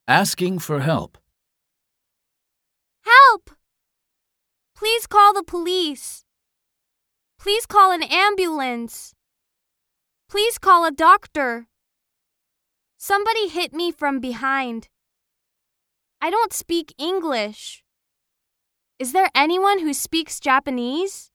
Asking for help. Help! Please call the police. Please call an ambulance. Please call a doctor. Somebody hit me from behind. I don't speak English. Is there anyone who speaks Japanese?